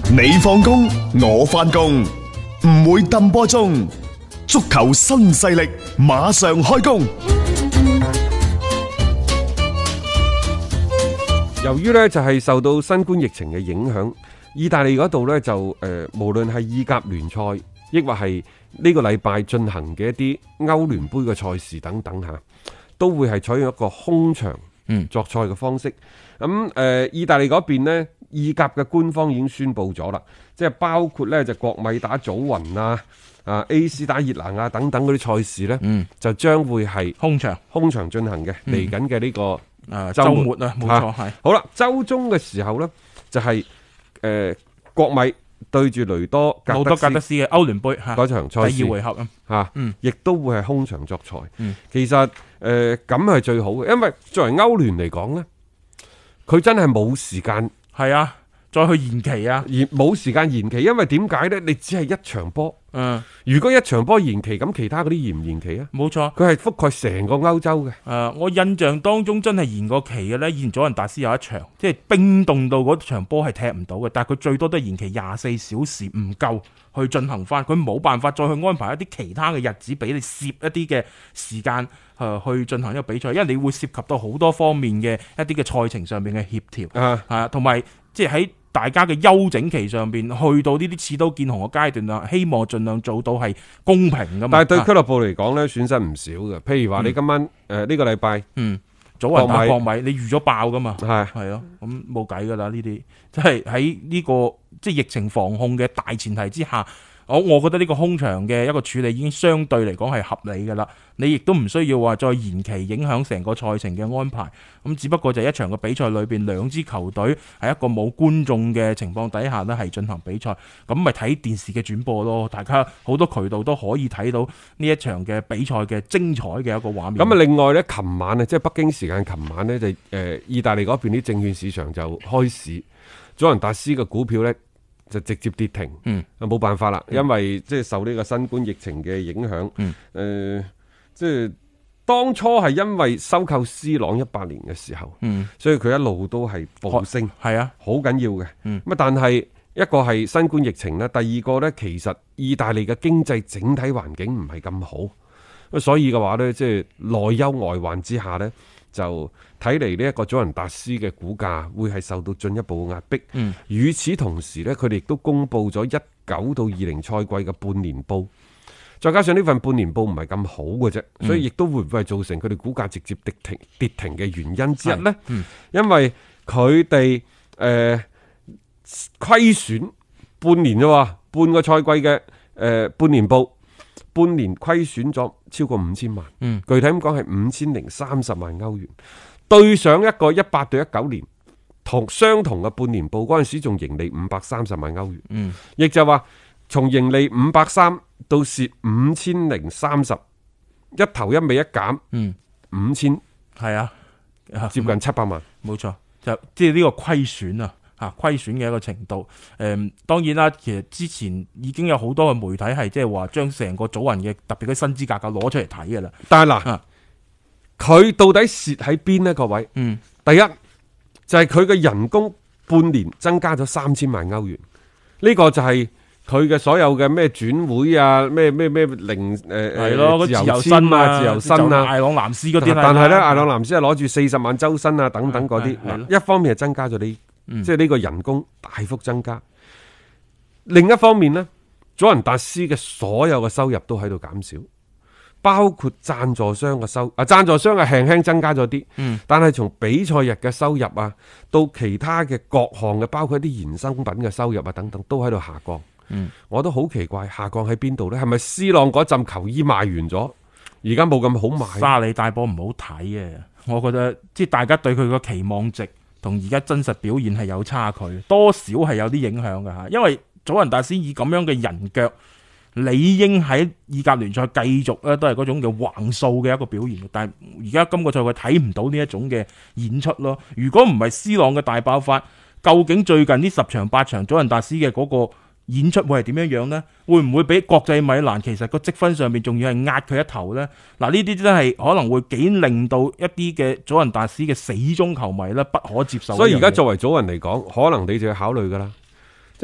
你放工，我翻工，唔會抌波鐘。足球新勢力馬上開工。 由於呢就係受到新冠疫情嘅影響，意大利嗰度呢就無論係意甲聯賽，抑或係呢個禮拜進行嘅一啲歐聯杯嘅賽事等等吓，都會係採用一個空場作賽嘅方式。咁意大利嗰邊呢，意甲嘅官方已經宣布咗啦，即係包括呢就國米打祖雲啊、AC 打熱拿亞等等嗰啲賽事呢，就將會係空場進行嘅。嚟緊嘅呢個週末啊，冇錯係。好啦，週中嘅時候呢，就係國米對住雷多格德斯嘅歐聯杯嗰場賽事第二回合亦都會係空場作賽。其實咁係最好嘅，因為作為歐聯嚟講呢，佢真係冇時間再去延期啊，冇時間延期，因為點解呢？你只係一場波。如果一場波延期，咁其他嗰啲延唔延期啊？冇錯，佢係覆蓋成個歐洲嘅。 我印象當中真係延過期嘅呢，以前祖雲達斯有一場，即係冰凍到嗰場波係踢唔到嘅，但係佢最多都係延期24小時唔夠去進行翻，佢冇辦法再去安排一啲其他嘅日子俾你攝一啲嘅時間去進行一個比賽，因為你會涉及到好多方面嘅一啲嘅賽程上面嘅協調，同埋即係喺大家嘅休整期上邊，去到呢啲刺刀見紅嘅階段啦，希望盡量做到係公平噶嘛。 但係對俱樂部嚟講咧，損失唔少嘅。譬如話你今晚呢個禮拜， 祖雲打國米，你預咗爆噶嘛？係咯，咁冇計噶啦呢啲，即係喺呢個即係疫情防控嘅大前提之下。我覺得呢個空場嘅一個處理已經相對嚟講係合理㗎啦，你亦都唔需要話再延期影響成個賽程嘅安排。咁只不過就係一場嘅比賽裏邊，兩支球隊喺一個冇觀眾嘅情況底下呢係進行比賽，咁咪睇電視嘅轉播咯。大家好多渠道都可以睇到呢一場嘅比賽嘅精彩嘅一個畫面。 咁啊，另外呢，琴晚呢，即係北京時間琴晚呢，就意大利嗰邊啲證券市場就開市，祖雲達斯嘅股票呢，就直接跌停，冇辦法啦，因為即係受呢個新冠疫情嘅影響，即係當初係因為收購 C 朗18年嘅時候，所以佢一路都係暴升，係啊，好緊要嘅。咁但係一個係新冠疫情咧，第二個呢，其實意大利嘅經濟整體環境唔係咁好，所以嘅話呢，即係內憂外患之下呢，就睇嚟呢一個祖雲達斯嘅股價會係受到進一步壓迫。與此同時呢，佢哋亦都公布咗19到20賽季嘅半年報，再加上呢份半年報唔係咁好嘅啫，所以亦都會唔會係造成佢哋股價直接跌停嘅原因之一呢？因為佢哋虧損半年啫喎，半個賽季嘅半年報。半年虧損咗超過5000萬，具體咁講係5030萬歐元，對上一個18到19年相同嘅半年報嗰陣時仲盈利530萬歐元，亦就話從盈利530到蝕5030，一頭一尾一減，5000係啊，接近700萬， 冇錯，就即係呢個虧損啊。虧損嘅一個程度，當然啦，其實之前已經有好多嘅媒體係即係話將成個祖雲嘅特別嘅薪資價格攞出嚟睇嘅啦。 但係嗱，佢到底蝕喺邊呢？各位，第一就係佢嘅人工半年增加咗3000萬歐元，呢個就係佢嘅所有嘅咩轉會啊，咩零係咯，自由身啊，自由身啊， 艾朗南斯嗰啲， 但係咧，艾朗南斯係攞住40萬周薪啊，等等嗰啲，一方面係增加咗呢。即係呢個人工大幅增加，另一方面呢，祖雲達斯嘅所有嘅收入都喺度減少，包括贊助商嘅贊助商係輕輕增加咗啲，但係從比賽日嘅收入啊，到其他嘅各項嘅，包括一啲衍生品嘅收入啊等等，都喺度下降。我都好奇怪，下降喺邊度呢？係咪 C 朗嗰陣球衣賣完咗，而家冇咁好賣？ 沙里大波唔好睇嘅，我覺得即係大家對佢個期望值同而家真實表現係有差距，多少係有啲影響嘅吓。因為祖雲達斯以咁樣嘅人腳，理應喺意甲聯賽繼續咧都係嗰種嘅橫掃嘅一個表現，但係而家今個賽季睇唔到呢一種嘅演出咯。如果唔係 C 朗嘅大爆發，究竟最近呢10場8場祖雲達斯嘅嗰個演出會係點樣樣呢？會唔會比國際米蘭其實個積分上面仲要係壓佢一頭呢？嗱，呢啲真係可能會幾令到一啲嘅祖雲達斯嘅死忠球迷咧不可接受。 所以而家作為祖雲嚟講，可能你就要考慮噶啦，即係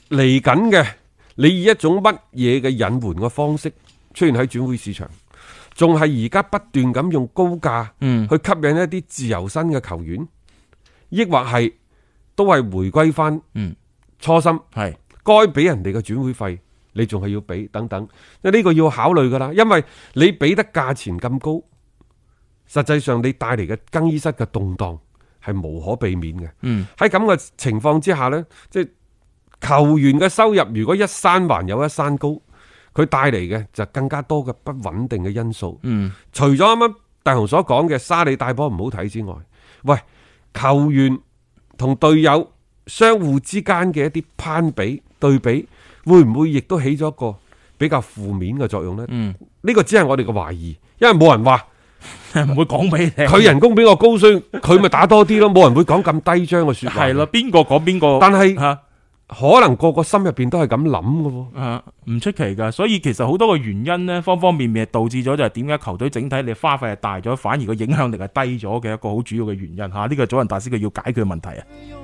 嚟緊嘅，你以一種乜嘢嘅引援嘅方式出現喺轉會市場，仲係而家不斷咁用高價去吸引一啲自由身嘅球員，抑或係都係回歸翻初心， 係該俾人哋嘅轉會費，你仲係要俾等等，呢個要考慮噶啦，因為你俾得價錢咁高，實際上你帶嚟嘅更衣室嘅動盪係無可避免嘅。喺咁嘅情況之下呢，即係球員嘅收入如果一山還有一山高，佢帶嚟嘅就更加多嘅不穩定嘅因素。除咗啱啱大雄所講嘅沙里帶波唔好睇之外，喂，球員同隊友相互之間嘅一啲攀比對比，會唔會亦都起咗一個比較負面嘅作用呢？呢個只係我哋嘅懷疑，因為冇人話唔會講俾你聽， 佢人工比我高，所以佢咪打多啲咯。冇人會講咁低張嘅說話。 係咯，邊個講邊個？ 但係可能個個心入邊都係咁諗嘅喎。 唔出奇噶。所以其實好多嘅原因呢，方方面面係導致咗就係點解球隊整體你花費係大咗，反而個影響力係低咗嘅一個好主要嘅原因吓。呢個祖雲達斯佢要解決嘅問題啊。